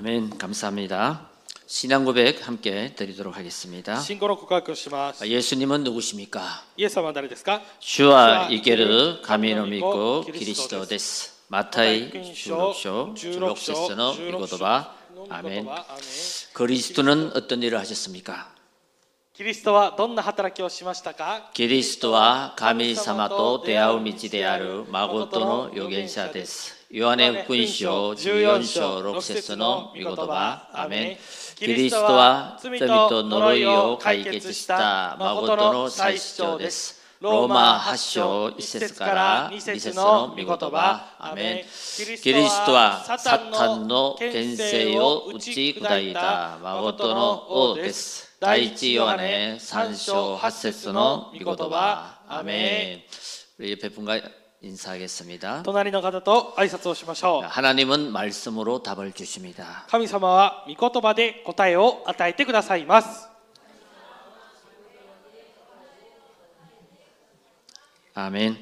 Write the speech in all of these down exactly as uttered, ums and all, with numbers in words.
아멘. 감사합니다. 신앙 고백 함께 드리도록 하겠습니다. 信仰の告白をします。 예수님은 누구십니까? イエス様は誰ですか？ 주와 이케르 가미노 믿고 그리스도 데스. 마타이 십육 章じゅうろく節の御言葉。 아멘. 그리스도는 어떤 일을 하셨습니까? キリストはどんな働きをしましたか？ 그리스도와神様と出会う道である誠の預言者です。 요한의福音書じゅうよん章ろく節の御言葉。 아멘. 그리스도와罪と呪いを解決した誠の祭司長です。 로마はち章いち節からに節の御言葉。 아멘. 그리스도와 사탄の権勢を打ち砕いた誠の王です。 第一ヨハネさん章はち節の御言葉。 아멘. 우리 옆에 분과 인사하겠습니다. 隣の方と挨拶をしましょう。 하나님은 말씀으로 답을 주십니다. 神様は御言葉で答えを与えてくださいます。 아멘.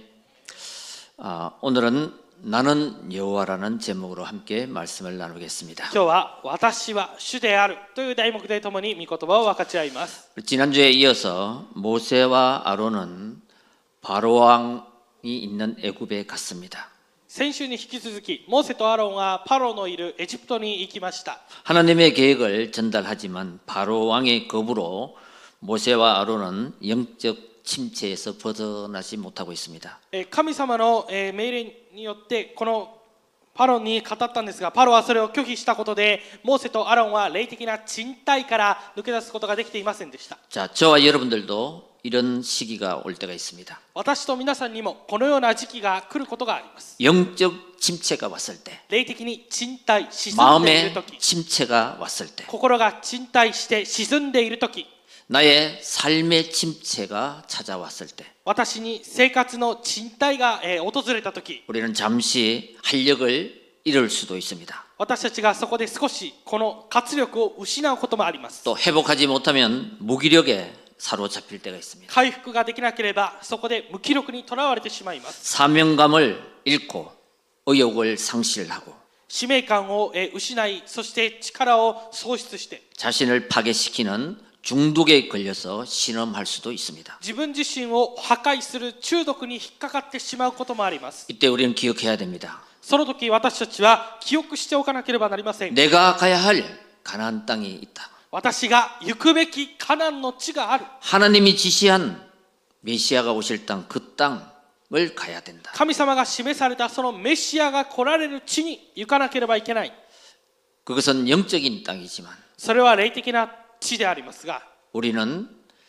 아, 오늘은 나는 여호와라는 제목으로 함께 말씀을 나누겠습니다. 今日は私は主であるという題目でともに御言葉を分かち合います。 지난주에 이어서 모세와 아론은 바로 왕이 있는 애굽에 갔습니다. 先週に引き続きモーセとアロンはパロのいるエジプトに行きました。 하나님의 계획을 전달하지만 바로 왕의 겁으로 모세와 아론은 영적 침체에서 벗어나지 못하고 있습니다. 神様の命令によってこのパロに語ったんですが、パロはそれを拒否したことでモーセとアロンは霊的な賃貸から抜け出すことができていませんでした。 자, 저와 여러분들도 이런 시기가 올 때가 있습니다. 私と皆さんにもこのような時期が来ることがあります。 영적 침체가 왔을 때, 霊的に賃貸沈んでいる 마음의 時、 침체가 왔을 때, 心が賃貸して沈んでいる時、 나의 삶의 침체가 찾아왔을 때, 私に生活の賃貸がえー訪れた時、 우리는 잠시 활력을 잃을 수도 있습니다. 私たちがそこで少しこの活力を失うこともあります。 또 회복하지 못하면 무기력에 사로잡힐 때가 있습니다. 回復ができなければそこで無気力にとらわれてしまいます。 사명감을 잃고 의욕을 상실하고 使命感をえー失い、そして力を喪失して 자신을 파괴시키는 중독에 걸려서 신음할 수도 있습니다. 自分自身を破壊する中毒に引っかかってしまうこともあります。 이때 우리는 기억해야 됩니다. その時私たちは記憶しておかなければなりません。 내가 가야 할 가나안 땅이 있다. 私が行くべきカナンの地がある。 하나님이 지시한 메시아가 오실 땅, 그 땅을 가야 된다. 神様が示されたそのメシアが来られる地に行かなければいけない。 그것은 영적인 땅이지만 それは霊的な地でありますが、 우리는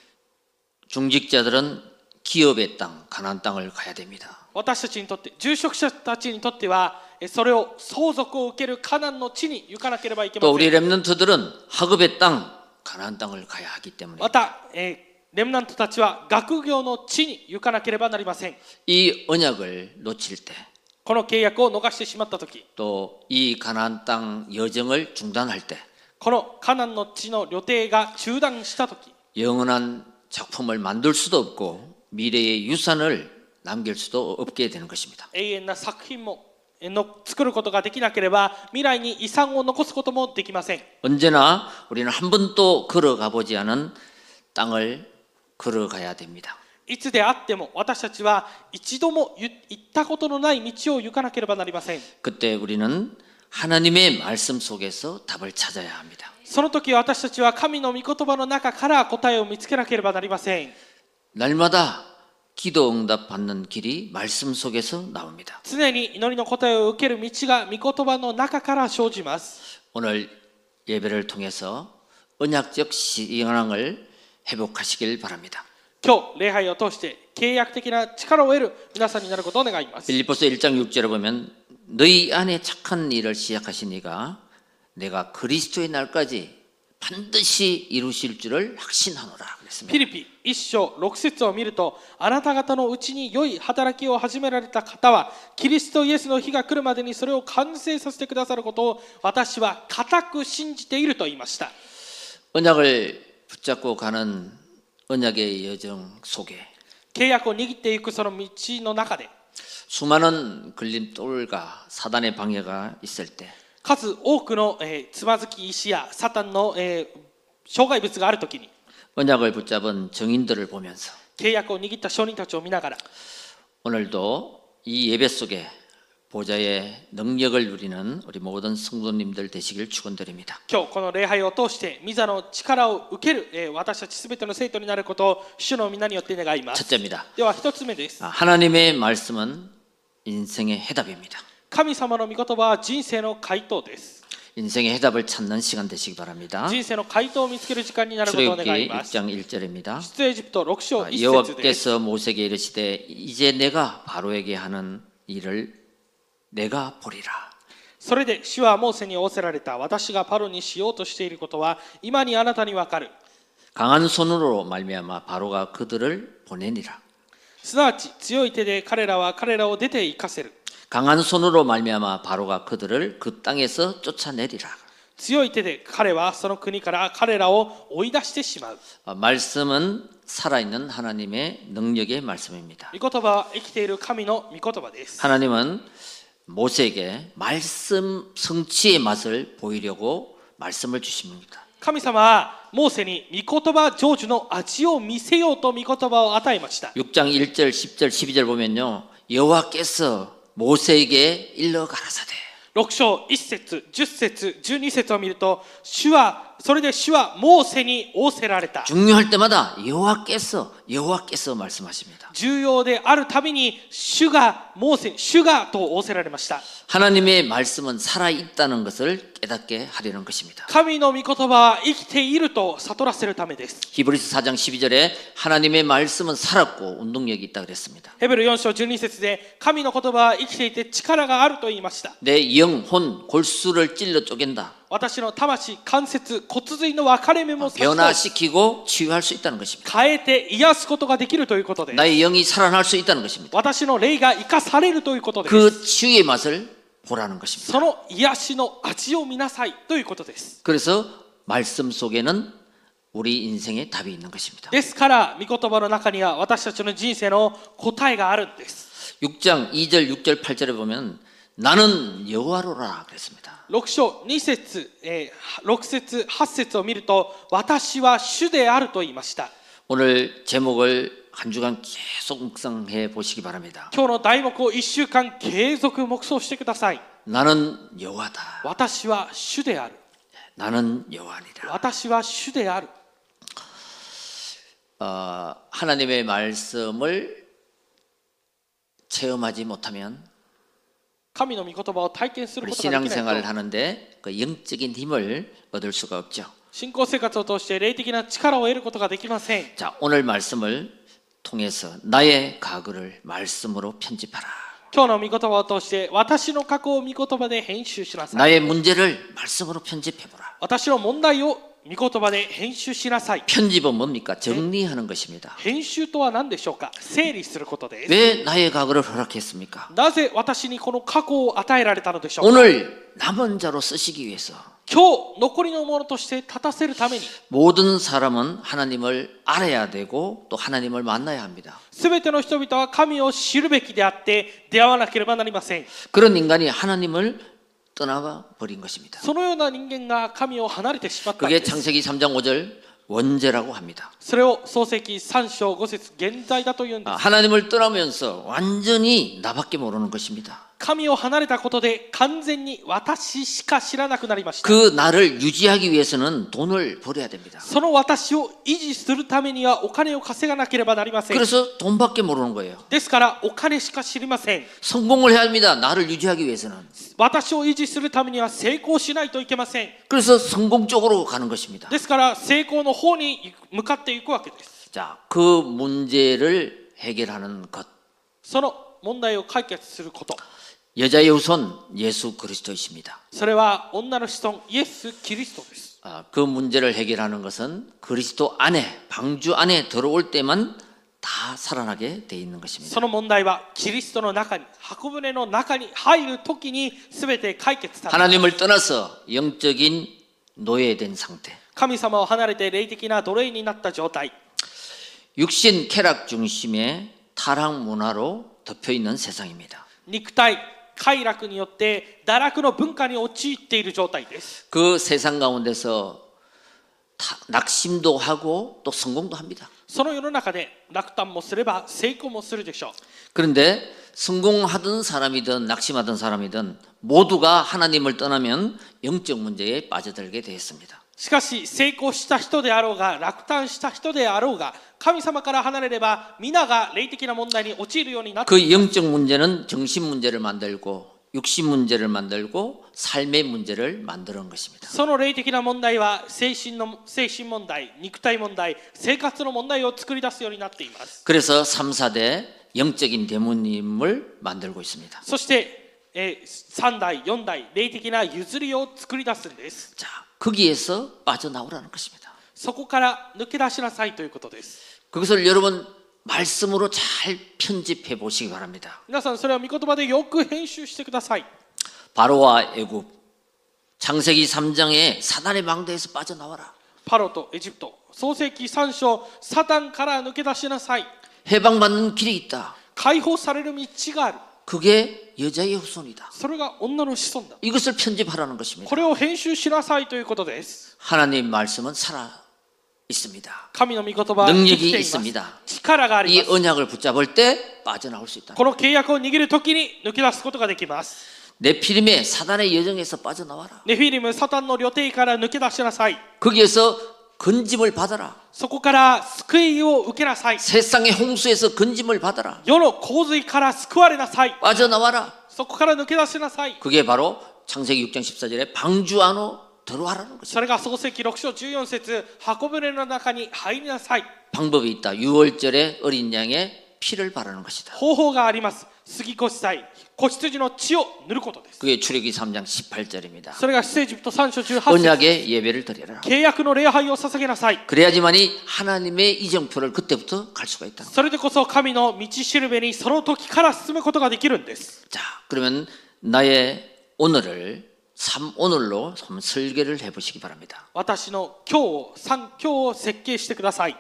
중직자들은 기업의 땅, 가나안 땅을 가야 됩니다. 私たちにとって、住職者たちにとってはそれを相続を受けるカナンの地に行かなければいけま 또 せ 우리 ん。 렘넌트들은 학업의 땅, 가나안 땅을 가야 하기 때문에 また、えーレムナントたちは学業の地に行かなければなりません。 이 언약을 놓칠 때, この契約を逃してしまったとき、 또 이 가나안 땅 여정을 중단할 때 このカナンの地の旅程が中断したとき、 영원한 작품을 만들 수도 없고 미래의 유산을 남길 수도 없게 되는 것입니다. 永遠な作品もの作ることができなければ未来に遺産を残すこともできません。 언제나 우리는 한 번도 걸어가 보지 않은 땅을 걸어가야 됩니다. いつであっても私たちは一度も行ったことのない道を行かなければなりません。 그때 우리는 하나님의 말씀 속에서 답을 찾아야 합니다. その時私たちは神の御言葉の中から答えを見つけなければなりません。 날마다 기도 응답 받는 길이 말씀 속에서 나옵니다. 常に祈りの答えを受ける道が御言葉の中から生じます。 오늘 예배를 통해서 언약적 신앙을 회복하시길 바랍니다. 今日礼拝を通して契約的な力を得る皆さんになることを願います。 빌립보서 일 장 육 절에 보면 너희 안에 착한 일을 시작하신 이가 내가 그리스도의 날까지 반드시 이루실 줄을 확신하노라 그랬습니다. フィリピ一章六節を見ると、あなた方のうちに良い働きを始められた方はキリストイエスの日が来るまでにそれを完成させてくださることを私は固く信じていると言いました。 언약을 붙잡고 가는 언약의 여정 속에 契約を握っていくその道の中で 수많은 걸림돌과 사단의 방해가 있을 때 数多くの、えーつまずき石やサタンの、えー障害物があるときに 언약을 붙잡은 증인들을 보면서 契約を握った証人たちを見ながら 오늘도 이 예배 속에 보좌의 능력을 누리는 우리 모든 성도님들 되시길 축원드립니다. 今日この礼拝を通して御座の力を受ける、えー私たちすべての生徒になることを主の皆によって願います。 첫째입니다. では一つ目です。 하나님의 말씀은 인생의 해답입니다. 神様の御言葉は人生の回答です。 인생의 해답을 찾는 시간 되시기 바랍니다. 人生の回答を見つける時間になることを願 출애굽기 います。 일 장 일 절입니다. 出エジプトろく章いち節です。 여호와께서 모세에게 이르시되 이제 내가 바로에게 하는 일을 내가 보리라. それで主はモーセに仰せられた。私がパロにしようとしていることは今にあなたにわかる。 강한 손으로 말미암아 바로가 그들을 보내니라. すなわち強い手で彼らは彼らを出て行かせる。 강한 손으로 말미암아 바로가 그들을 그 땅에서 쫓아내리라. 強い手で彼はその国から彼らを追い出してしまう。 아, 말씀은 살아있는 하나님의 능력의 말씀입니다. 御言葉は生きている神の御言葉です。 하나님은 모세에게 말씀 성취의 맛을 보이려고 말씀을 주십니다. 神様はモーセに御言葉成就の味を見せようと御言葉を与えました。 육 장 일 절, 십 절, 십이 절 보면요. 여호와께서 모세에게 일러 가라사대. ろく章いち節、じゅっ節、じゅうに節を見ると、主はそれで主はモーセに仰せられた。 중요할 때마다 여호와께서 여호와께서 말씀하십니다. 重要であるたびに主がモーセに主がと仰せられました。 하나님의 말씀은 살아 있다는 것을 깨닫게 하려는 것입니다. 神の御言葉は生きていると悟らせるためです。 히브리서 사 장 십이 절에 하나님의 말씀은 살았고 운동력이 있다 그랬습니다. ヘブルよん章じゅうに節で神の言葉は生きていて力があると言いました。 내 영혼 골수를 찔러 쪼갠다. 私の魂、関節、骨髄の分かれ目も 변화시키고 치유할 수 있다는 것입니다. 変えて癒すことができるということです。 나의 영이 살아날 수 있다는 것입니다. 私の霊が生かされるということです。 그 치유의 맛을 보라는 것입니다. その癒しの味を見なさいということです。 그래서 말씀 속에는 우리 인생의 답이 있는 것입니다. ですから御言葉の中には私たちの人生の答えがあるんです。 육 장 이 절, 육 절, 팔 절에 보면 나는 여호와로라 그랬습니다. ろく章に節、えー、ろく節、はち節を見ると私は主であると言いました。 오늘 제목을 한 주간 계속 묵상해 보시기 바랍니다. 今日の題目をいっしゅうかん継続黙想してください。 나는 여호와다. 私は主である。 나는 여호와니라. 私は主である。 어, 하나님의 말씀을 체험하지 못하면 神の御言葉を体験する 우리 ことができない 신앙생활을 と 하는데 그 영적인 힘을 얻을 수가 없죠. 信仰生活を通して霊的な力を得ることができません。 자, 오늘 말씀을 통해서 나의 과거를 말씀으로 편집하라. 今日の御言葉を通して私の過去を御言葉で編集しなさい。 나의 문제를 말씀으로 편집해보라. 私の問題を御言葉で編集しなさい。 편집은 뭡니까? 정리하는 것입니다. 編集とは何でしょうか。整理することです。 왜 나의 과거를 허락했습니까? なぜ私にこの過去を与えられたのでしょうか。 오늘 남은 자로 쓰시기 위해서 今日残りのものとして立たせるために 모든 사람은 하나님을 알아야 되고 또 하나님을 만나야 합니다. すべての人々は神を知るべきであって出会わなければなりません。 그런 인간이 하나님을 떠나가 버린 것입니다. そのような人間が神を離れてしまったん 그게 です。 창세기 삼 장 오 절 원죄라고 합니다. それを創世記さん章ご節現在だというんで 아, す。 하나님을 떠나면서 완전히 나밖에 모르는 것입니다. 神を離れたことで完全に私しか知らなくなりました。 그 나를 유지하기 위해서는 돈을 벌어야 됩니다. その私を維持するためにはお金を稼がなければなりません。 그래서 돈밖에 모르는 거예요. ですからお金しか知りません。 성공을 해야 합니다. 나를 유지하기 위해서는. 私を維持するためには成功しないといけません。 그래서 성공 쪽으로 가는 것입니다. ですから成功の方に向かっていくわけです。 자, 그 문제를 해결하는 것. その問題を解決すること。 여자의 후손 예수 그리스도이십니다. それは女の子孫イエス・キリストです。 아, 그 문제를 해결하는 것은 그리스도 안에 방주 안에 들어올 때만 다 살아나게 돼 있는 것입니다. その問題はキリストの中に箱舟の中に入るときに全て解決されます。 하나님을 떠나서 영적인 노예된 상태. 神様を離れて霊的な奴隷になった状態。 육신 쾌락 중심의 타락 문화로 덮여 있는 세상입니다. 肉体、 快楽によって堕落の文化に陥っている状態です。 그 세상 가운데서 다- 낙심도 하고 또 성공도 합니다. その世の中で落胆もすれば成功もするでしょう。 그런데 성공하던 사람이든 낙심하던 사람이든 모두가 하나님을 떠나면 영적 문제에 빠져들게 되었습니다. しかし成功した人であろうが落胆した人であろうが神様から離れれば皆が霊的な問題に陥るようになって 그 영적 문제는 정신 문제를 만들고 육신 문제를 만들고 삶의 문제를 만드는 것입니다. その霊的な問題は精神の精神問題、肉体問題、生活の問題を作り出すようになっています。 그래서 삼, 사 대 영적인 대모님을 만들고 있습니다. そして、えー、さん代、よん代、霊的な譲りを作り出すんです。 자, 거기에서 빠져나오라는 것입니다. そこから抜け出しなさいということです。 그것을 여러분 말씀으로 잘 편집해 보시기 바랍니다. 皆さんそれを御言葉でよく編集してください。 바로와 애굽, 창세기 삼 장에 사단의 망대에서 빠져나와라. パロとエジプト、創世記さん章、サタンから抜け出しなさい。 해방받는 길이 있다. 解放される道がある。 그게 여자의 후손이다. それが女の子孫だ。 이것을 편집하라는 것입니다. これを編集しなさいということです。 하나님 말씀은 살아 있습니다. 神の御言葉は生きています。 능력이있습니다. 力があり 이 ます。 언약을 붙잡을 때 빠져나올 수 있다. この契約を握るときに抜け出すことができます。 네피림의 사단의 여정에서 빠져나와라. ネフィリム、サタンの旅程から抜け出しなさい。 거기에서 건짐을 받아라. そこから救いを受けなさい。 세상의 홍수에서 건짐을 받아라. 世の洪水から救われなさい。 빠져나와라. そこから抜け出しなさい。 그게 바로 창세기 육 장 십사 절에 방주 안으로 들어와라는 것입니다. それが創世記ろく章じゅうよん節、箱舟の中に入りなさい。 방법이 있다. 유월절에 어린 양의 피를 바르는 것이다. 方法があります。杉越祭、子羊の血を塗ることです。 그게 출애굽기 삼 장 십팔 절입니다. それが出エジプトさん章じゅうはち節。 언약의 예배를 드려라. 契約の礼拝を捧げなさい。 그래야지만이 하나님의 이정표를 그때부터 갈 수가 있다. それでこそ神の道しるべにその時から進むことができるんです。 자, 그러면 나의 오늘을 삼 오늘로 한번 설계를 해보시기 바랍니다. 私の今日を三今日を設計してください。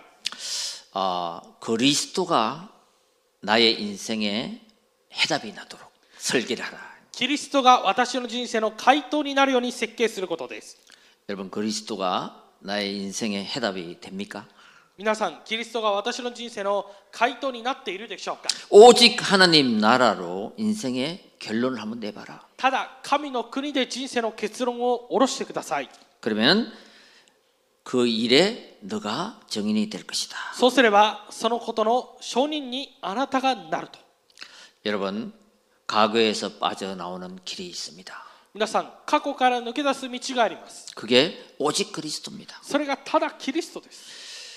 아, 그리스도가 나의 인생에 해답이 나도록 설계를 하라. キリストが私の人生の回答になるように設計することです。 여러분, 그리스도가 나의 인생의 해답이 됩니까? 皆さん、キリストが私の人生の回答になっているでしょうか。 오직 하나님 나라로 인생의 결론을 한번 내봐라. ただ神の国で人生の結論を下ろしてください。 그러면 그 일에 너가 정인이 될 것이다. そうすればそのことの証人にあなたがなると。 여러분, 과거에서 빠져나오는 길이 있습니다. 皆さん、過去から抜け出す道があります。 그게 오직 그리스도입니다. それがただキリストです。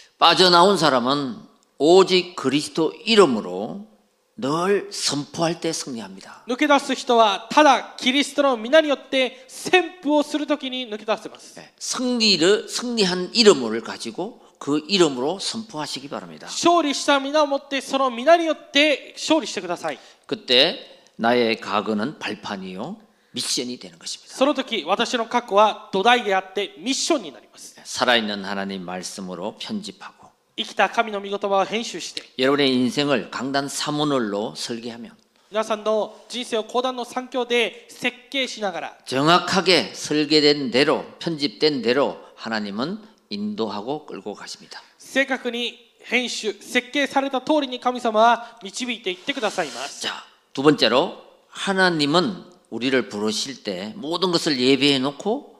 빠져나온 사람은 오직 그리스도 이름으로 늘 선포할 때 승리합니다. 抜け出す人はただキリストの皆によって宣布をするときに抜け出せます。 승리를 승리한 이름을 가지고 그 이름으로 선포하시기 바랍니다. 勝利した皆をもってその皆によって勝利してください。 그때 나의 과거는 발판이요 미션이 되는 것입니다. その時私の過去は土台であってミッションになります。 살아있는 하나님 말씀으로 편집하고 生きた神の御言葉を編集して 여러분의 인생을 강단 삼 오늘로 설계하면 皆さんの人生を講談の三教で設計しながら 정확하게 설계된 대로 편집된 대로 하나님은 인도하고 끌고 가십니다. 正確に編集設計された通りに神様は導いていってくださいます。 자, 두 번째로 하나님은 우리를 부르실 때 모든 것을 예배해 놓고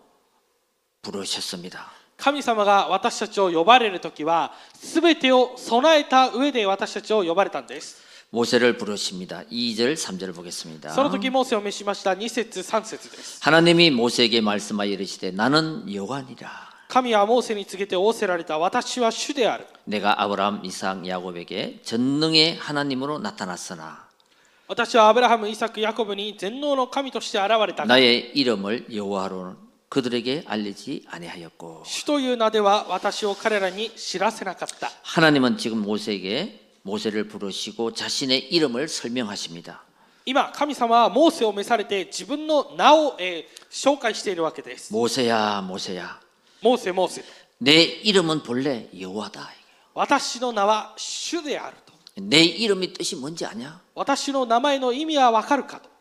부르셨습니다. 神様が私たちを呼ばれるときは全てを備えた上で私たちを呼ばれたんです。 모세를 부르십니다. 이 절 삼 절을 보겠습니다. その時モーセを召しましたに節さん節です。 하나님이 모세에게 말씀하여 이르시되 나는 여호와니라. 神はモーセに告げて仰せられた私は主である。 내가 아브라함, 이삭, 야곱에게 전능의 하나님으로 나타났으나 私はアブラハム、イサク、ヤコブに全能の神として現れたが 나의 이름을 여호와로 그들에게 알리지 아니하였고 主という名では私を彼らに知らせなかった。 하나님은 지금 모세에게 모세를 부르시고 자신의 이름을 설명하십니다. 今神様はモーセを召されて自分の名を、えー、紹介しているわけです。 모세야 모세야 モーセモーセと 내 이름은 본래 여호와다. 私の名は主であると。 내 이름의 뜻이 뭔지 아냐? 私の名前の意味はわかるかと。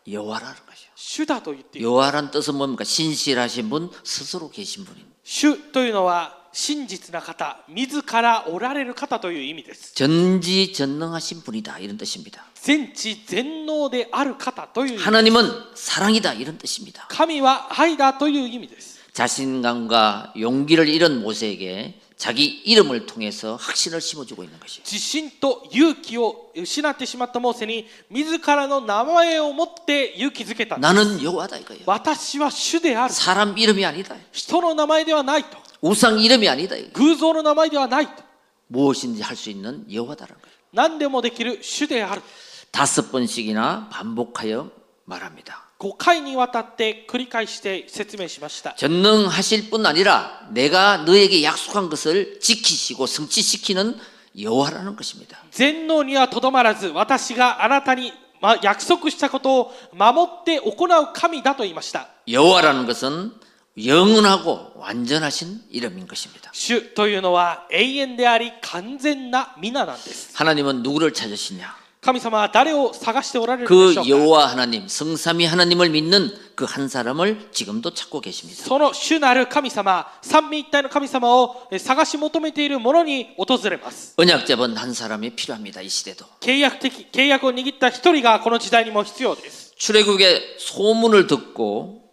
여호와라는 것이요. 主だと言っている。 여호와란 뜻은 뭡니까? 신실하신 분, 스스로 계신 분입니다. 主というのは真実な方、自らおられる方という意味です。 전지전능하신 분이다 이런 뜻입니다. 全知全能である方という意味です。 하나님은 사랑이다 이런 뜻입니다. 神は愛だという意味です。 자신감과 용기를 잃은 모세에게 자기 이름을 통해서 확신을 심어주고 있는 것이에요. 自信と勇気を失ってしまったモーセに自らの名前を持って勇気づけたんです。 나는 여호와다 이거예요. 私は主である。 사람 이름이 아니다. 人の名前ではないと。 우상 이름이 아니다. 이거예요. 偶像の名前ではないと。 무엇인지 할 수 있는 여호와다라는 거예요. 何でもできる主である。 다섯 번씩이나 반복하여 말합니다. ごかいにわたって繰り返して説明しました。 전능하실 뿐 아니라 내가 너에게 약속한 것을 지키시고 성취시키는 여호와라는 것입니다. 全能にはとどまらず、私があなたにま約束したことを守って行う神だと言いました。 여호와라는 것은 영원하고 완전하신 이름인 것입니다. 主というのは永遠であり完全な皆なんです。 하나님은 누구를 찾으시냐? 神様は誰を探しておられる 그 でしょうか。 여호와 하나님, 성삼위 하나님을 믿는 그 한 사람을 지금도 찾고 계십니다. その主なる神様、三位一体の神様を探し求めている者に訪れます。 언약 잡은 한 사람이 필요합니다. 이 시대도. 契約的契約を握った一人がこの時代にも必要です。 출애굽의 소문을 듣고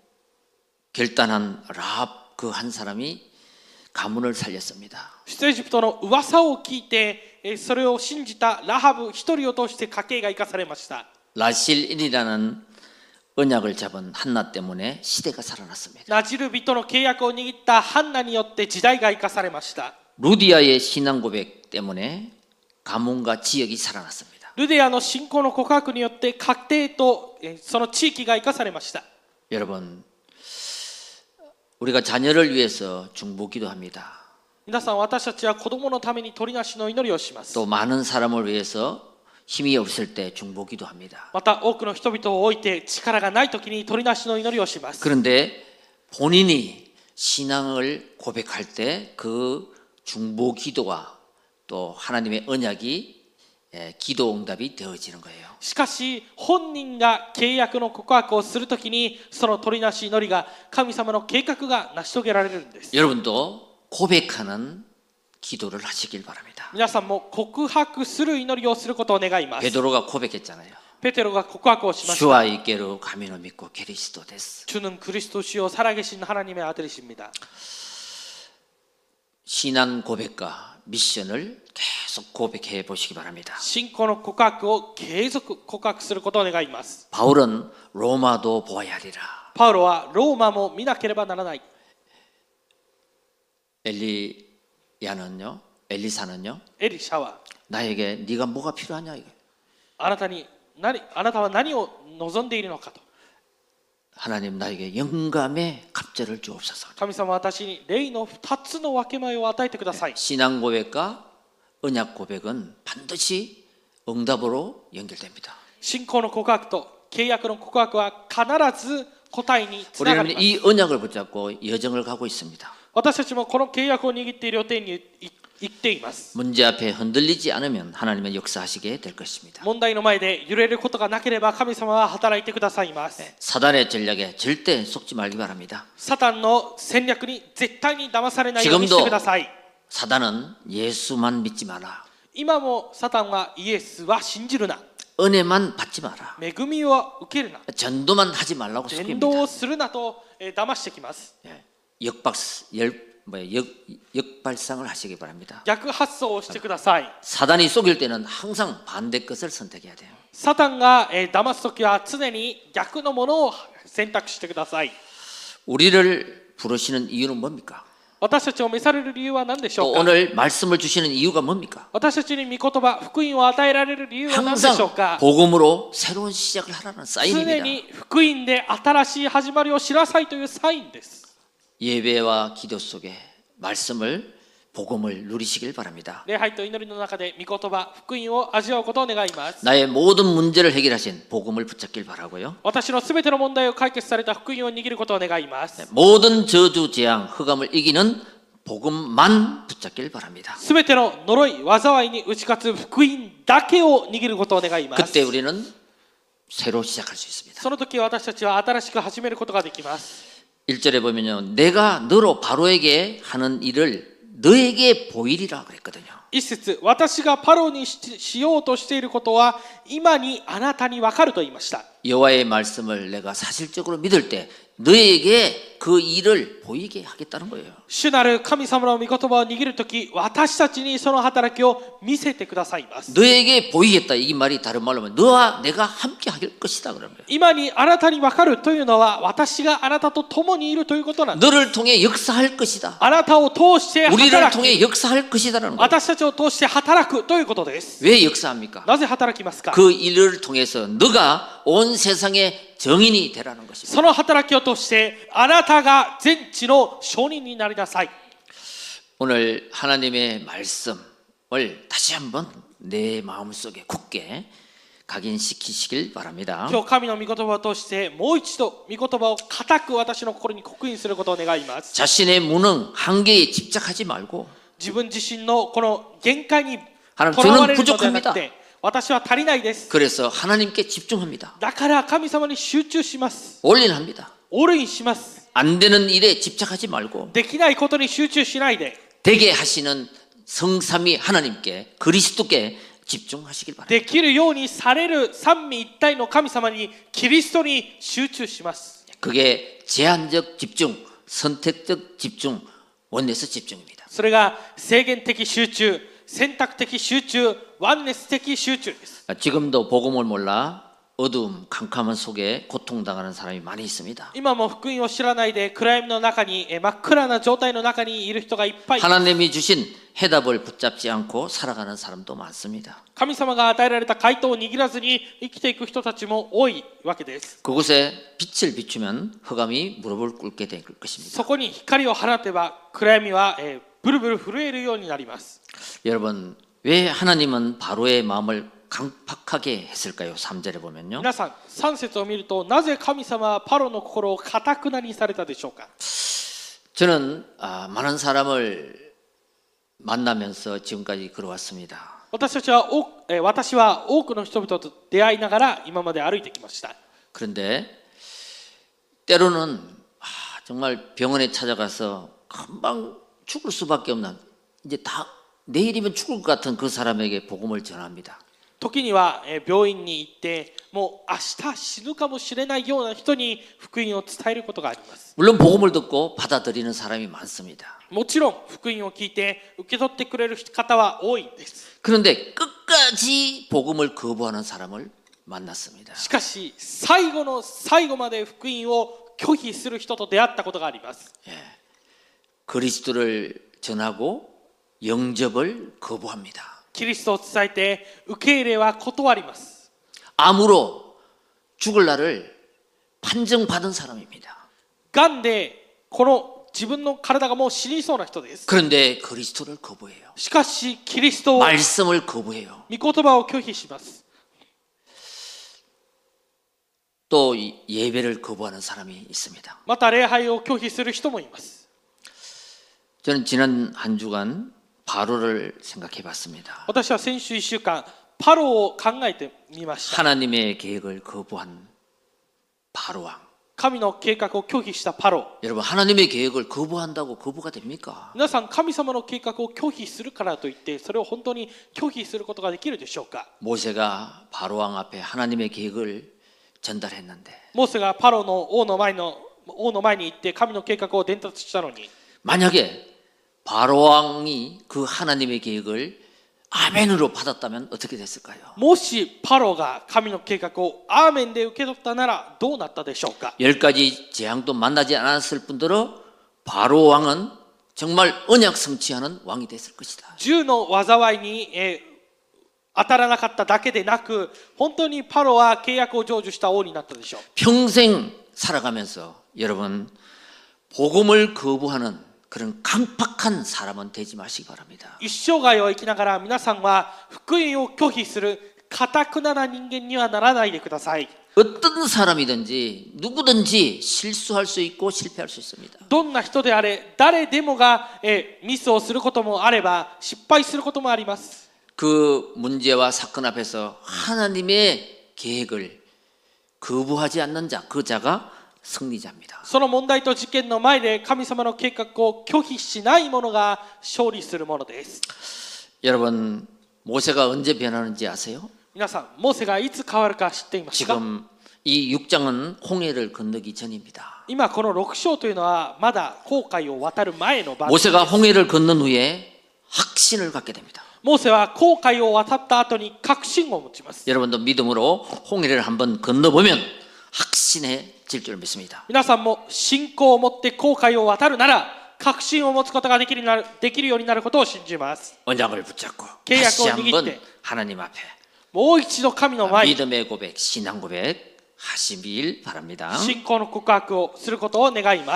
결단한 라합 그 한 사람이 가문을 살렸습니다. 出エジプトの噂を聞いてそれを信じたラハブ一人を通して家計が生かされました。 라실인이라는 언약을 잡은 한나 때문에 시대가 살아났습니다. ナジル人の契約を握ったハンナによって時代が生かされました。 루디아의 신앙 고백 때문에 가문과 지역이 살아났습니다. ルデアの信仰の告白によって家庭とその地域が生かされました。 여러분, 우리가 자녀를 위해서 중보기도합니다. 皆さん、私たちは子供のために取りなしの祈りをします。 또 많은 사람을 위해서 힘이 없을 때 중보기도합니다. また多くの人々を置いて力がない時に取りなしの祈りをします。 그런데 본인이 신앙을 고백할 때 그 중보기도와 또 하나님의 언약이 기도 응답이 되어지는 거예요. しかし本人が契約の告白をするときにその取りなし祈りが神様の計画が成し遂げられるんです。 여러분도 고백하는 기도를 하시길 바랍니다. 皆さんも告白する祈りをすることを願います。 베드로가 고백했잖아요. ペテロが告白をしました。 주와 있게로 가면을 믿고 그리스도 됐어. 주는 그리스도시요 살아계신 하나님의 아들이십니다. 신앙 고백과 미션을 계속 고백해 보시기 바랍니다. 信仰の告白を継続告白することを願います。 바울은 로마도 보아야 하리라. パウロはローマも見なければならない。 엘리야는요, 엘리사는요, エリシャは 나에게 네가 뭐가 필요하냐 이거. あなたに何あなたは何を望んでいるのかと。 하나님 나에게 영감의 갑절을 주옵소서. 神様は私に霊の二つの分け前を与えてください。 신앙 고백과 언약 고백은 반드시 응답으로 연결됩니다. 信仰の告白と契約の告白は必ず答えにつながり 우리는 ます。 이 언약을 붙잡고 여정을 가고 있습니다. 私たちもこの契約を握っている予定に行っています。 문제 앞에 흔들리지 않으면 하나님은 역사하시게 될 것입니다. 問題の前で揺れることがなければ神様は働いてくださいます。 사단의 전략에 절대 속지 말기 바랍니다. サタンの戦略に絶対に騙されないようにしてください。 사단은 예수만 믿지 마라. 今もサタンはイエスは信じるな。 은혜만 받지 마라. 恵みを受けるな。 전도만 하지 말라고 伝 속입니다. 道をするなと、えー、騙してきます。 예, 역박 열 뭐야 역 역발상을 하시기 바랍니다. 逆発想をしてください。 사단이 속일 때는 항상 반대 것을 선택해야 돼요. サタンが、えー、騙すときは常に逆のものを選択してください。 우리를 부르시는 이유는 뭡니까? 私たちを召される理由は何でしょ 또 うか。 오늘 말씀을 주시는 이유가 뭡니까? 私たちに御言葉、福音を与えられる理由は何でしょう 항상 か。 복음으로 새로운 시작을 하라는 常 사인입니다. に福音で新しい始まりを知らさいというサインです。 예배와 기도 속에 말씀을 복음을 누리시길 바랍니다. 礼拝と祈りの中で御言葉、福音を味わうことを願います。 나의 모든 문제를 해결하신 복음을 붙잡길 바라고요. 私のすべての問題を解決された福音を握ることを願います。 모든 저주, 재앙, 흑암을 이기는 복음만 붙잡길 바랍니다. すべての呪い、災いに打ち勝つ福音だけを握ることを願います。 그때 우리는 새로 시작할 수 있습니다. その時私たちは新しく始めることができます。 일 절에 보면요. 내가 너로 바로에게 하는 일을 너에게 보이리라 그랬거든요. 一節、私がパロに し, しようとしていることは今にあなたに分かると言いました。 여호와의 말씀을 내가 사실적으로 믿을 때 너에게 그 일을 보이게 하겠다는 거예요. 主なる神様の御言葉を握るとき、私たちにその働きを見せてくださいます。 너에게 보이겠다. 이 말이 다른 말로 하면 너와 내가 함께 할 것이다 그런 거예요. 今にあなたに分かるというのは私があなたと共にいるということなんです。 너를 통해 역사할 것이다. あなたを通して働 우리를 き、 통해 역사할 것이다라는 거예요. 私たちを通して働くということです。 왜 역사합니까? なぜ働きますか？ 그 일을 통해서 너가 온 세상의 정인이 되라는 것입니다. その働きを通してあなたが全地の証人になりなさい。 오늘 하나님의 말씀을 다시 한번 내 마음속에 굳게 각인시키시길 바랍니다. 今日神の御言葉を通してもう一度御言葉を固く私の心に刻印することを願います。 자신의 무능, 한계에 집착하지 말고 自分自身のこの限界に 하나님 とらわれ 저는 るのではなく 부족합니다. て、私は足りないです。 그래서 하나님께 집중합니다. だから神様に集中します。 올인합니다. オールインします。 안 되는 일에 집착하지 말고 できないことに集中しないで、 되게 하시는 성삼위 하나님께 그리스도께 집중하시길 바랍니다. できるようにされる三位一体の神様にキリストに集中します。 그게 제한적 집중, 선택적 집중, 원내스 집중입니다. それが制限的集中、選択的集中、ワンネス的集中です。 지금도 복음을 몰라 어두움, 캄캄한 속에 고통당하는 사람이 많이 있습니다. 今も福音を知らないで暗闇の中に、え真っ暗な状態の中にいる人がいっぱい。 하나님이 주신 해답을 붙잡지 않고 살아가는 사람도 많습니다. 神様が与えられた回答を握らずに生きていく人たちも多いわけです。 그곳에 빛을 비추면 흑암이 무릎을 꿇게 될 것입니다. そこに光を放てば暗闇は、えーブルブル震えるようになります。 여러분, 왜 하나님은 바로의 마음을 강팍하게 했을까요? 삼 절에 보면요. 皆さん、さん節を見ると、なぜ神様はパロの心を堅くなにされたでしょうか。 저는 아, 많은 사람을 만나면서 지금까지 걸어왔습니다. 私たちは多く、えー私は多くの人々と出会いながら今まで歩いてきました。 그런데 때로는 아, 정말 병원에 찾아가서 금방 죽을 수밖에 없는, 이제 다 내일이면 죽을 것 같은 그 사람에게 복음을 전합니다. 時には、えー病院に行ってもう明日死ぬかもしれないような人に福音を伝えることがあります。 물론 복음을 듣고 받아들이는 사람이 많습니다. もちろん福音を聞いて受け取ってくれる方は多いです。 그런데 끝까지 복음을 거부하는 사람을 만났습니다. しかし最後の最後まで福音を拒否する人と出会ったことがあります。 예. 그리스도를 전하고 영접을 거부합니다. キリストを伝えて受け入れは断ります。 암으로 죽을 날을 판정받은 사람입니다. がんでこの自分の体がもう死にそうな人です。 그런데 그리스도를 거부해요. しかしキリストを、御 말씀을 거부해요. 言葉を拒否します。 또 예배를 거부하는 사람이 있습니다. また礼拝を拒否する人もいます。 저는 지난 한 주간 바로를 생각해 봤습니다. 私は先週いっしゅうかんパロを考えてみました。 하나님의 계획을 거부한 바로 왕. 神の計画を拒否したパロ。 여러분, 하나님의 계획을 거부한다고 거부가 됩니까? 皆さん、神様の計画を拒否するからといってそれを本当に拒否することができるでしょうか。 모세가 바로 왕 앞에 하나님의 계획을 전달했는데 モーセがパロの王の前の王の前に行って神の計画を伝達したのに、 만약에 바로 왕이 그 하나님의 계획을 아멘으로 받았다면 어떻게 됐을까요? もしパロが神の計画をアーメンで受け取ったならどうなったでしょうか。 열 가지 재앙도 만나지 않았을 뿐더러 바로 왕은 정말 언약 성취하는 왕이 됐을 것이다. 十の災いに、えー当たらなかっただけでなく、本当にパロは契約を成就した王になったでしょう。 평생 살아가면서 여러분 복음을 거부하는 그런 강팍한 사람은 되지 마시기 바랍니다. 一生涯を生きながら皆さんは福音を拒否する堅くなな人間にはならないでください。 어떤 사람이든지 누구든지 실수할 수 있고 실패할 수 있습니다. どんな人であれ、誰でもが、えーミスをすることもあれば失敗することもあります。 그 문제와 사건 앞에서 하나님의 계획을 거부하지 않는 자, 그 자가 승리자입니다. その問題と事件の前で神様の計画を拒否しない者が勝利するものです。 여러분, 모세가 언제 변하는지 아세요? 皆さん、モーセがいつ変わるか知っていますか？ 지금 이 육 장은 홍해를 건너기 전입니다. 今このろく章というのはまだ紅海を渡る前の場面です。 모세가 홍해를 건넌 후에 확신을 갖게 됩니다. モーセは紅海を渡った後に確信を持ちます。 여러분도 믿음으로 홍해를 한번 건너보면 확신해질 줄 믿습니다. 皆さんも信仰を持って紅海を渡るなら確信を持つことができるなるできるようになることを信じます。 언약을 붙잡고 계약을 다시 한번 이길 때. 하나님 앞에 もう一度神の前に 믿음의 고백, 신앙 고백 하시길 바랍니다. 信仰の告白をすることを願います。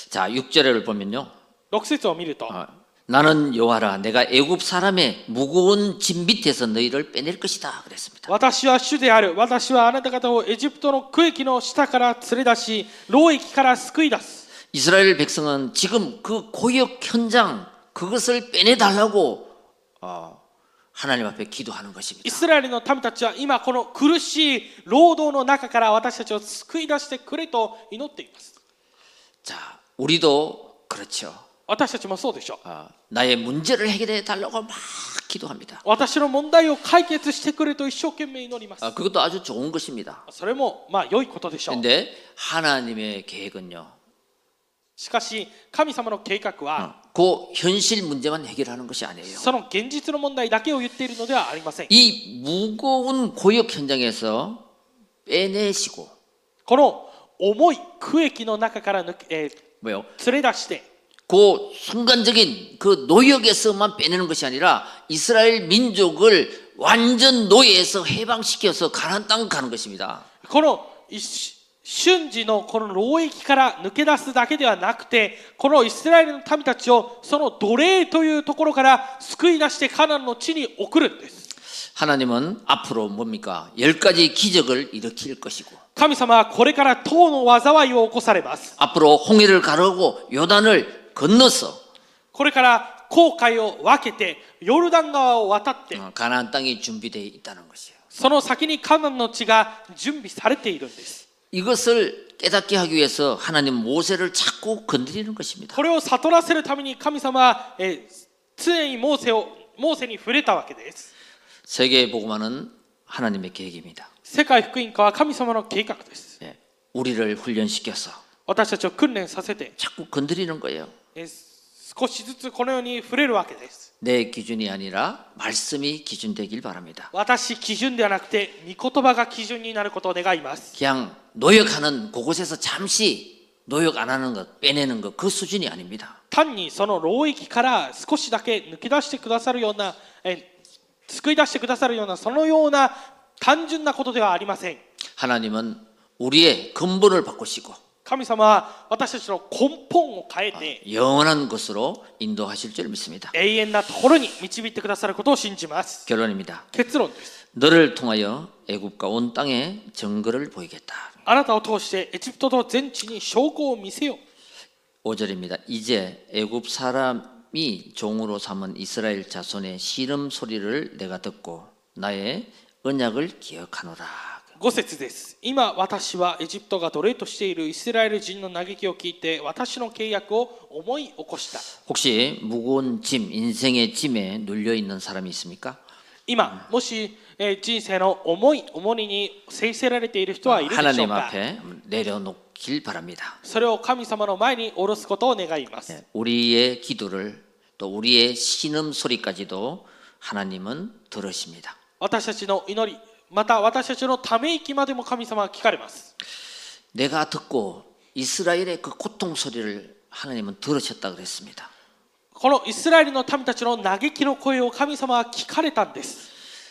자, 육 절을 보면요. ろく節を見ると、 어, 나는 여호와라 내가 애굽 사람의 무거운 짐 밑에서 너희를 빼낼 것이다 그랬습니다. 私は主である。私はあなた方をエジプトの区域の下から連れ出し、労役から救い出す。 이스라엘 백성은 지금 그 고역 현장 그것을 빼내달라고 어, 하나님 앞에 기도하는 イ 것입니다. スラエルの民たちは今この苦しい労働の中から私たちを救い出してくれと祈っています。 자, 우리도 그렇죠. 私たちもそうでしょう。 어, 나의 문제를 해결해 달라고 막 기도합니다. 私の問題を解決してくれと一生懸命祈ります。 어, 그것도 아주 좋은 것입니다. それもまあ良いことでしょう。 그런데 하나님의 계획은요. しかし神様の計画は 어, 그 현실 문제만 해결하는 것이 아니에요. その現実の問題だけを言っているのではありません。 이 무거운 고역 현장에서 빼내시고 この重い区域の中から抜け、えー 뭐요? 連れ出して 그 순간적인 그 노역에서만 빼내는 것이 아니라 이스라엘 민족을 완전 노예에서 해방시켜서 가나안 땅 가는 것입니다. この一瞬時のこの労役から抜け出すだけではなくて、このイスラエルの民たちをその奴隷というところから救い出してカナンの地に送るんです。 하나님은 앞으로 뭡니까? 열 가지 기적을 일으킬 것이고 神様はこれから塔の災いを起こされます。 앞으로 홍해를 가르고 요단을 건너서 これから紅海を分けてヨルダン川を渡って 어, 가나안 땅이 준비되어 있다는 것이에요. その先にカナンの地が準備されているんです。 이것을 깨닫게 하기 위해서 하나님 모세를 자꾸 건드리는 것입니다. これを悟らせるために神様は、えー、常にモーセをモーセに触れたわけです。 세계 복음화는 하나님의 계획입니다. 世界福音化は神様の計画です。 예, 우리를 훈련시켜서 私たちを訓練させて、 자꾸 건드리는 거예요. えー少しずつこのように触れるわけです。 내 기준이 아니라 말씀이 기준 되길 바랍니다. 私基準ではなくて御言葉が基準になることを願います。 그냥 노역하는 그곳에서 잠시 노역 안 하는 것, 빼내는 것, 그 수준이 아닙니다. 単にその労役から少しだけ抜け出してくださるような、え救い出してくださるようなそのような単純なことではありません。 하나님은 우리의 근본을 바꾸시고 神様は私たちの根本を変えて 영원한 것으로 인도하실 줄 믿습니다. 永遠なところに導いてくださることを信じます。 결론입니다. 結論です。 너를 통하여 애굽과 온 땅에 증거를 보이겠다. あなたを通してエジプトと全地に証拠を見せよう。 오 절입니다. 이제 애굽 사람이 종으로 삼은 이스라엘 자손의 씨름 소리를 내가 듣고 나의 언약을 기억하노라. ご節です。今私はエジプトが奴隷としているイスラエル人の嘆きを聞いて私の契約を思い起こした。 혹시 무거운 짐, 인생의 짐에 눌려 있는 사람이 있습니까? 今もし、えー人生の重い重荷に制せられている人はいるでしょう 하나님 か。 앞에 내려놓길 바랍니다. それを神様の前に下ろすことを願います。 예, 우리의 기도를 또 우리의 신음 소리까지도 하나님은 들으십니다. 私たちの祈り、また私たちのため息までも神様は聞かれます。 내가 듣고 이스라엘의 그 고통 소리를 하나님은 들으셨다 그랬습니다. このイスラエルの民たちの嘆きの声を神様は聞かれたんです。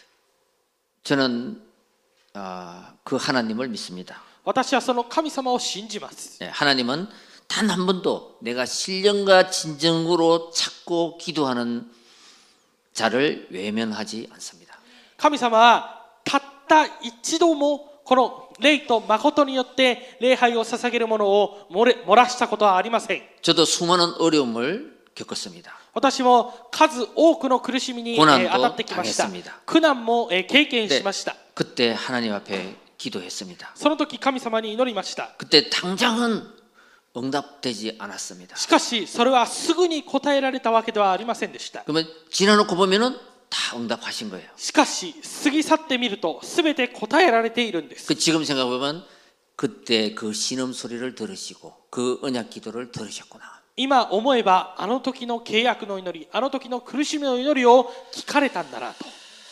저는 아, 그 하나님을 믿습니다. 私はその神様を信じます。 예, 하나님은 단 한 번도 내가 신령과 진정으로 찾고 기도하는 자를 외면하지 않습니다. 神様はたった一度もこの霊と誠によって礼拝を捧げるものを漏れ漏らしたことはありません。 저도 수많은 어려움을 겪었습니다. 私も数多くの苦しみに、え 고난도 ー当たってきました。 당했습니다. 苦難も、えー経験しました。 그때 하나님 앞에 기도했습니다. その時神様に祈りました。 그때 당장은 응답되지 않았습니다. しかしそれはすぐに答えられたわけではありませんでした。 그러면 지나놓고 보면은 다 응답하신 거예요. しかし過ぎ去ってみると全て答えられているんです。 그 지금 생각해보면 그때 그 신음 소리를 들으시고 그 언약 기도를 들으셨구나. 今思えばあの時の契約の祈り、あの時の苦しみの祈りを聞かれたんだなと。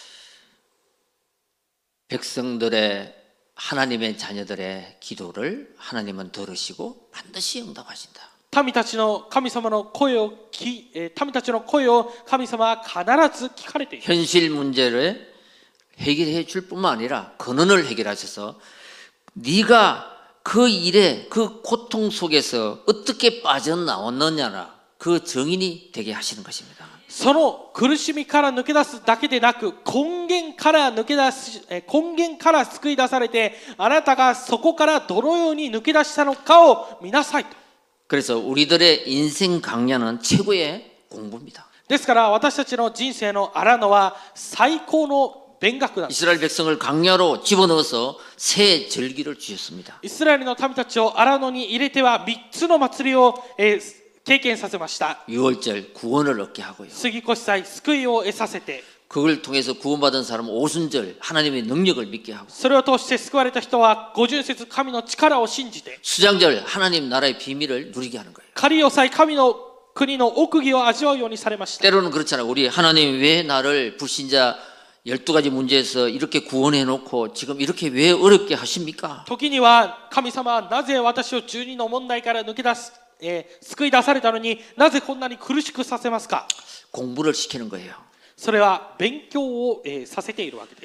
백성들의 하나님의 자녀들의 기도를 하나님은 들으시고 반드시 응답하신다. 民たちの神様の声を聞えー民たちの声を神様は必ず聞かれている。 현실 문제를 해결해 줄 뿐만 아니라 근원을 해결하셔서 네가 그 일에 그 고통 속에서 어떻게 빠져나왔느냐라 그 정인이 되게 하시는 것입니다. その苦しみから抜け出すだけでなく、根源から抜け出す、えー根源から救い出されて、あなたがそこからどのように抜け出したのかを見なさいと。 그래서 우리들의 인생 강야는 최고의 공부입니다. ですから私たちの人生の荒野は最高の勉学なんです。 이스라엘 백성을 강야로 집어넣어서 새 절기를 주셨습니다. イスラエルの民たちを荒野に入れてはみっつの祭りを、えー経験させました。 유월절 구원을 얻게 하고요. 杉越祭、救いを得させて、 그걸 통해서 구원받은 사람은 오순절 하나님의 능력을 믿게 하고 それを通して救われた人は五巡節神の力を信じて、 수장절 하나님 나라의 비밀을 누리게 하는 거예요. 仮押さえ神の国の奥義を味わうようにされました。 때로는 그렇잖아요. 우리 하나님 왜 나를 불신자 열두 가지 문제에서 이렇게 구원해 놓고 지금 이렇게 왜 어렵게 하십니까? 時には神様はなぜ私をじゅうにの問題から抜け出す、えー救い出されたのになぜこんなに苦しくさせますか。 공부를 시키는 거예요. それは勉強を、えーさせているわけです。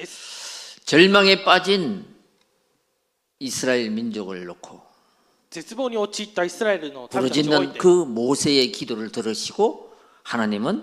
절망에 빠진 이스라엘 민족을 놓고 絶望に陥ったイスラエルの民たちを置い 부르짖는 て、 그 모세의 기도를 들으시고 하나님은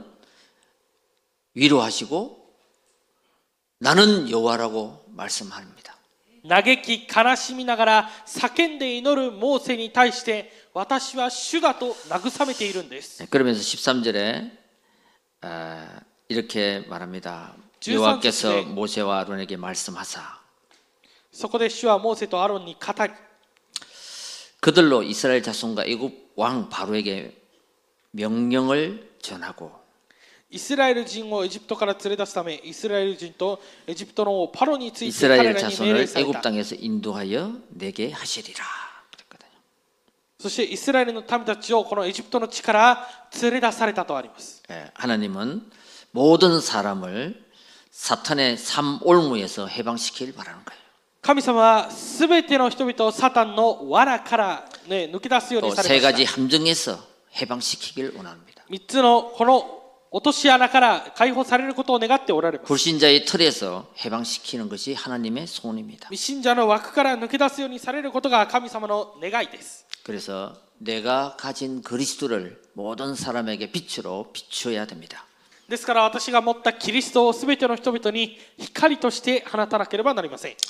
위로하시고 나는 여호와라고 말씀합니다. 嘆き悲しみながら叫んで祈るモーセに対して私は主だと慰めているんです。 그러면서 십삼 절에 아, 이렇게 말합니다. 십삼 여호와께서 절에 모세와 아론에게 말씀하사 そこで主はモーセとアロンに語り、 그들로 이스라엘 자손과 애굽 왕 바로에게 명령을 전하고 イスラエル人をエジプトから連れ出すため、イスラエル人とエジプトの王パロについて彼 이스라엘 らに命令 자손을 され 애굽 た。 땅에서 인도하여 내게 하시리라. 그랬거든요. そしてイスラエルの民たちをこのエジプトの地から連れ出されたとあります。 예, 하나님은 모든 사람을 사탄의 삼올무에서 해방시키길 바라는 거예요. 神様はすべての人々をサタンの罠から、ね、抜け出すように 또 さ 세 れま 가지 した。 함정에서 해방시키길 원합니다. みっつのこの落とし穴から解放されることを願っておられます。 불신자의 틀에서 해방시키는 것이 하나님의 손입니다. 未信者の枠から抜け出すようにされることが神様の願いです。 그래서 내가 가진 그리스도를 모든 사람에게 빛으로 비추어야 됩니다. ですから私が持ったキリストをすべての人々に光として放たなければなりません。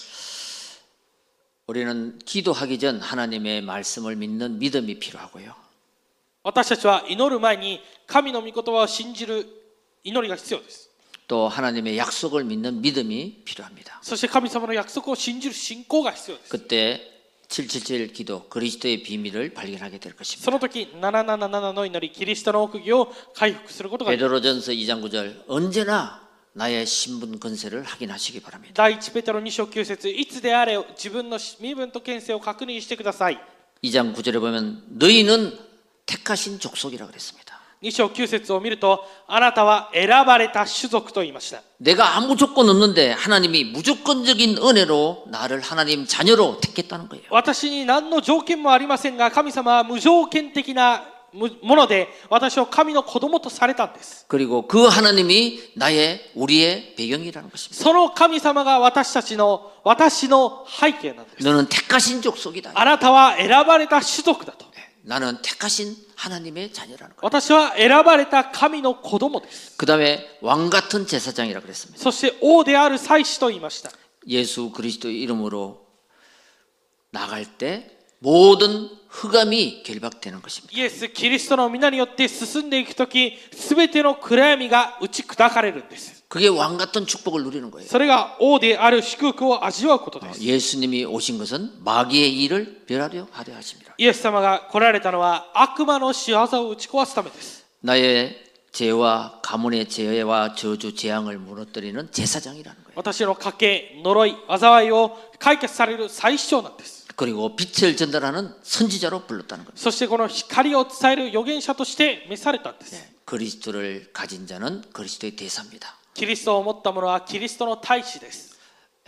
우리는 기도하기 전 하나님의 말씀을 믿는 믿음이 필요하고요. 私たちは祈る前に神の御言葉を信じる祈りが必要です。 또 하나님의 약속을 믿는 믿음이 필요합니다. そして神様の約束を信じる信仰が必要です。 그때 칠칠칠 기도 그리스도의 비밀을 발견하게 될 そ 것입니다. の時なななななの祈りキリストの奥義を回復することができます。 베드로전서 이 장 구 절 언제나 나의 신분 권세를 확인하시기 바랍니다. 第一ペテロに章きゅう節いつであれ自分の身分と権勢を確認してください。 이 장 구 절에 보면 너희는 택하신 족속이라고 그랬습니다. に章きゅう節を見るとあなたは選ばれた種族と言いました。 내가 아무 조건 없는데 하나님이 무조건적인 은혜로 나를 하나님 자녀로 택했다는 거예요. 私に何の条件もありませんが神様は無条件的なもので私を神の子供とされたんです。 그리고 그 하나님이 나의 우리의 배경이라는 것입니다. その神様が私たちの私の背景なんです。 너는 택하신 족속이다. あなたは選ばれた種族だと。 나는 택하신 하나님의 자녀라는 거예요. 私は選ばれた神の子供です。 그 다음에 왕 같은 제사장이라고 그랬습니다. そして王である祭司と言いました。 예수 그리스도 이름으로 나갈 때 모든 흑암이 결박되는 것입니다. イエス・キリストの皆によって進んでいくとき、すべての暗闇が打ち砕かれるんです。 그게 왕 같은 축복을 누리는 거예요. それが王である祝福を味わうことです。 예수님이 오신 것은 마귀의 일을 멸하려 하려 하십니다. イエス様が来られたのは悪魔の仕業を打ち壊すためです。 나의 죄와 가문의 죄와 저주 재앙을 무너뜨리는 제사장이라는 거예요. 私の家系、呪い、災いを解決される最主張なんです。 그리고 빛을 전달하는 선지자로 불렀다는 겁니다. そしてこの光を伝える預言者として召されたんです。 그리스도를 가진 자는 그리스도의 대사입니다. キリストを持った者はキリストの大使です。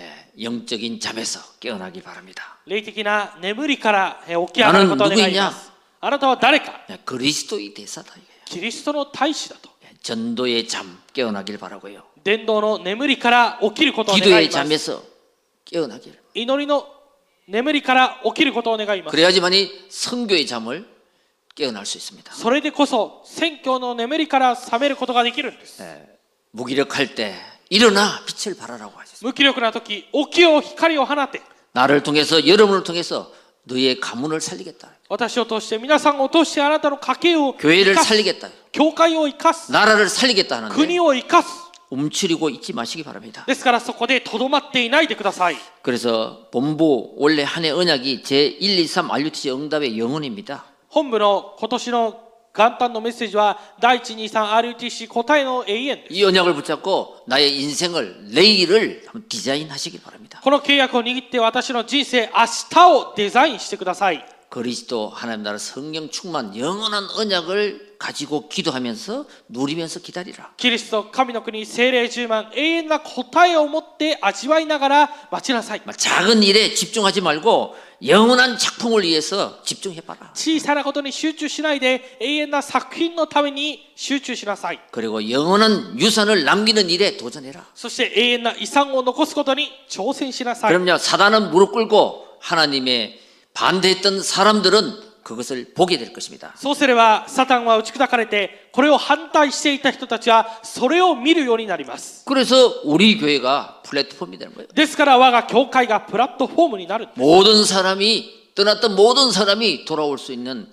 영적인 잠에서 깨어나기 바랍니다. 霊的な眠りから起き上がることを願います。あなたは誰か？ 그리스도의 대사다. キリストの大使だと。 전도의 잠 깨어나길 바라고요. 伝道の眠りから起きることを願い 기도의 ます。 잠에서 깨어나길. 祈りの眠りから起きることを願います。 그래야지만이 선교의 잠을 깨어날 수 있습니다. それでこそ宣教の眠りから覚めることができるんです。 무기력할 때 일어나 빛을 발하라고 하셨습니다. 無気力な時、起きよう光を放て。 나를 통해서 여러분을 통해서 너의 가문을 살리겠다. 私を通して皆さんを通してあなたの家計を 교회를 生かす。 살리겠다. 教会を生かす。 나라를 살리겠다 하는데 国を生かす。 움츠리고 있지 마시기 바랍니다. ですからそこでとどまっていないでください。 그래서 본부 원래 한 해 언약이 제일, 이, 삼 알유티씨 응답의 영혼입니다. 本部の今年の元旦のメッセージはだいいち、に、さん アールユーティーシー 答えの永遠です。 이 언약을 붙잡고 나의 인생을 내일을 한번 디자인하시기 바랍니다. この契約を握って私の人生明日をデザインしてください。 그리스도 하나님 나라 성령 충만 영원한 언약을 가지고 기도하면서 누리면서 기다리라. キリスト神の国聖霊充満永遠な答えを持って味わいながら待ちなさい。 작은 일에 집중하지 말고 영원한 작품을 위해서 집중해봐라. 小さなことに集中しないで永遠な作品のために集中しなさい。 그리고 영원한 유산을 남기는 일에 도전해라. そして永遠な遺産を残すことに挑戦しなさい。 그럼요, 사단은 무릎 꿇고 하나님의 반대했던 사람들은 그것을 보게 될 것입니다. そうすればサタンは打ち砕かれてこれを反対していた人たちはそれを見るようになります。 그래서 우리 교회가 플랫폼이 되는 거예요. ですから我が教会がプラットフォームになるんです。 모든 사람이 떠났던 모든 사람이 돌아올 수 있는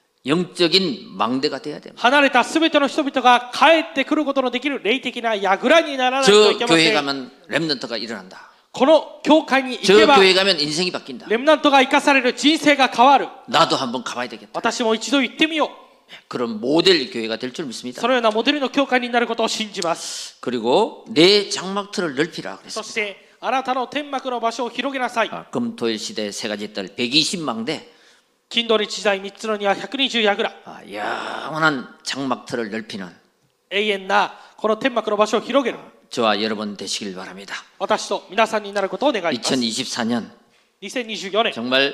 영적인 망대가 돼야 됩니다. 離れたすべての人々が帰ってくることのできる霊的な櫓にならないとい 저 けま 교회 せん。 가면 렘넌트가 일어난다. この教会に行 저 けば 교회 가면 인생이 바뀐다. レムナントが生かされる人生が変わる。 나도 한번 가봐야 되겠다. 私も一度行ってみよう。 그런 모델 교회가 될 줄 믿습니다. そのようなモデルの教会になることを信じます。 그리고 내 장막틀을 넓히라 そ 그랬습니다. してあなたの天幕の場所を広げなさい。 아, 금토일 시대 세 가지 뜰 백이십 망대. 金土日時代みっつのにはひゃくにじゅう櫓。 아, 영원한 장막틀을 넓히는 永遠なこの天幕の場所を広げる。 저와 여러분 되시길 바랍니다. 私と皆さんになることを願います。 이천이십사 년 にせんにじゅうよねん 정말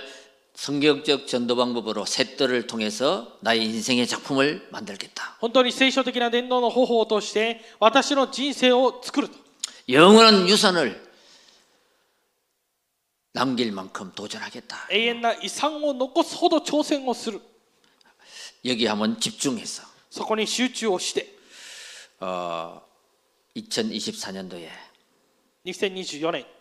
성경적 전도 방법으로 새 뜰을 통해서 나의 인생의 작품을 만들겠다. 本当に聖書的な伝道の方法を通して私の人生を作ると。 영원한 유산을 남길 만큼 도전하겠다. 永遠な遺産を残すほど挑戦をする。 여기 한번 집중해서 そこに集中をして 어, 이천이십사 년도에 にせんにじゅうよねん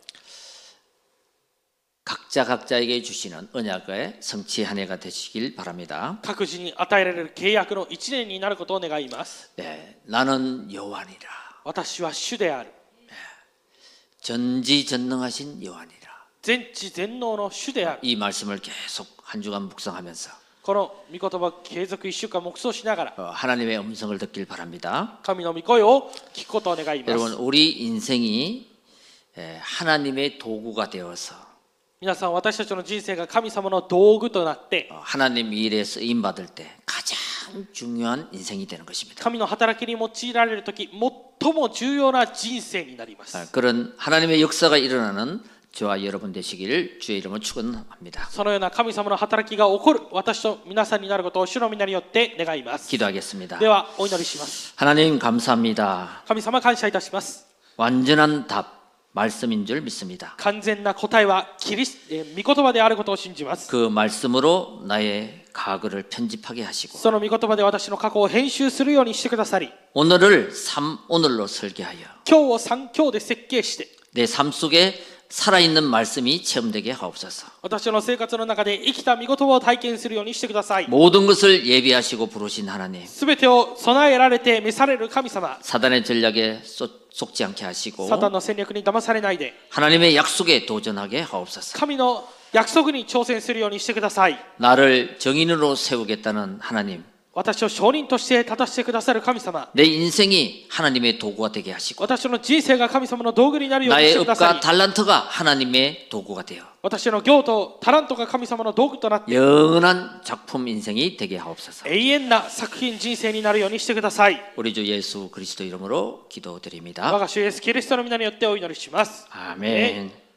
각자 각자에게 주시는 언약의 성취 한 해가 되시길 바랍니다. 各自に与えられる契約のいちねんになることを願います。 네, 나는 여호와니라. 私は主である。 전지전능하신 여호와니라. 全知全能の主である。 이 말씀을 계속 한 주간 묵상하면서 この御言葉を継続いっしゅうかん黙想しながら 어, 하나님의 음성을 듣길 바랍니다. 神の御声を聞くことを願いま 여러분 す。 우리 인생이 에, 하나님의 도구가 되어서 皆さん私たちの人生が神様の道具となって 어, 하나님 일에 쓰임 받을 때 가장 중요한 인생이 되는 것입니다. 神の働きに用いられるとき最も重要な人生になります。 아, 그런 하나님의 역사가 일어나는 저와 여러분 되시기를 주의 이름으로 축원합니다. そのような神様の働きが起こる私と皆さんになることを主の皆によって願います。 기도하겠습니다. ではお祈りします。 하나님 감사합니다. 神様感謝いたします。 완전한 답 말씀인 줄 믿습니다. 完全な答えはキリス、えー、御言葉であることを信じます。 그 말씀으로 나의 과거를 편집하게 하시고 その御言葉で私の過去を編集するようにしてくださり 오늘을 삼 오늘로 설계하여 今日を三今日で設計して 내 삶 속에 살아있는 말씀이 체험되게 하옵소서. 私の生活の中で生きた御言葉を体験するようにしてください。 모든 것을 예비하시고 부르신 하나님, すべてを備えられて召される神様、 사단의 전략에 쏟- 속지 않게 하시고 サタンの戦略に騙されないで、 하나님의 약속에 도전하게 하옵소서. 神の約束に挑戦するようにしてください。 나를 정인으로 세우겠다는 하나님, 私を証人として立たせてくださる神様、 내 인생이 하나님의 도구가 되게 하시고 私の人生が神様の道具になるようにし 나의 てくださ 업과 い。 달란트가 하나님의 도구가 되어 私の業とタラントが神様の道具となって、 영원한 작품 인생이 되게 하옵소서. 永遠な作品人生になるようにしてください。 우리 주 예수 그리스도 이름으로 我 기도드립니다. が主イエスキリストの皆によってお祈りします。 아멘.